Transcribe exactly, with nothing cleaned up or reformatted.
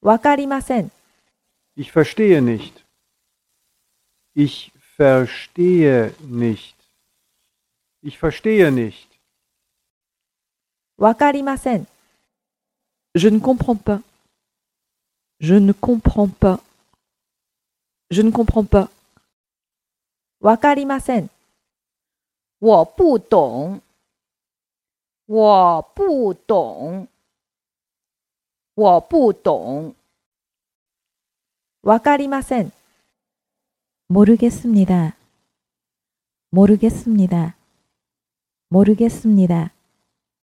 わかりません。 Ich verstehe nicht. Ich verstehe nicht. Ich verstehe nicht. わかりません。 Je ne comprends pas. Je ne comprends pas. Je ne comprends pas. わかりません。 我不懂。我不懂。我不懂。 わかりません。 모르겠습니다. 모르겠습니다. 모르겠습니다.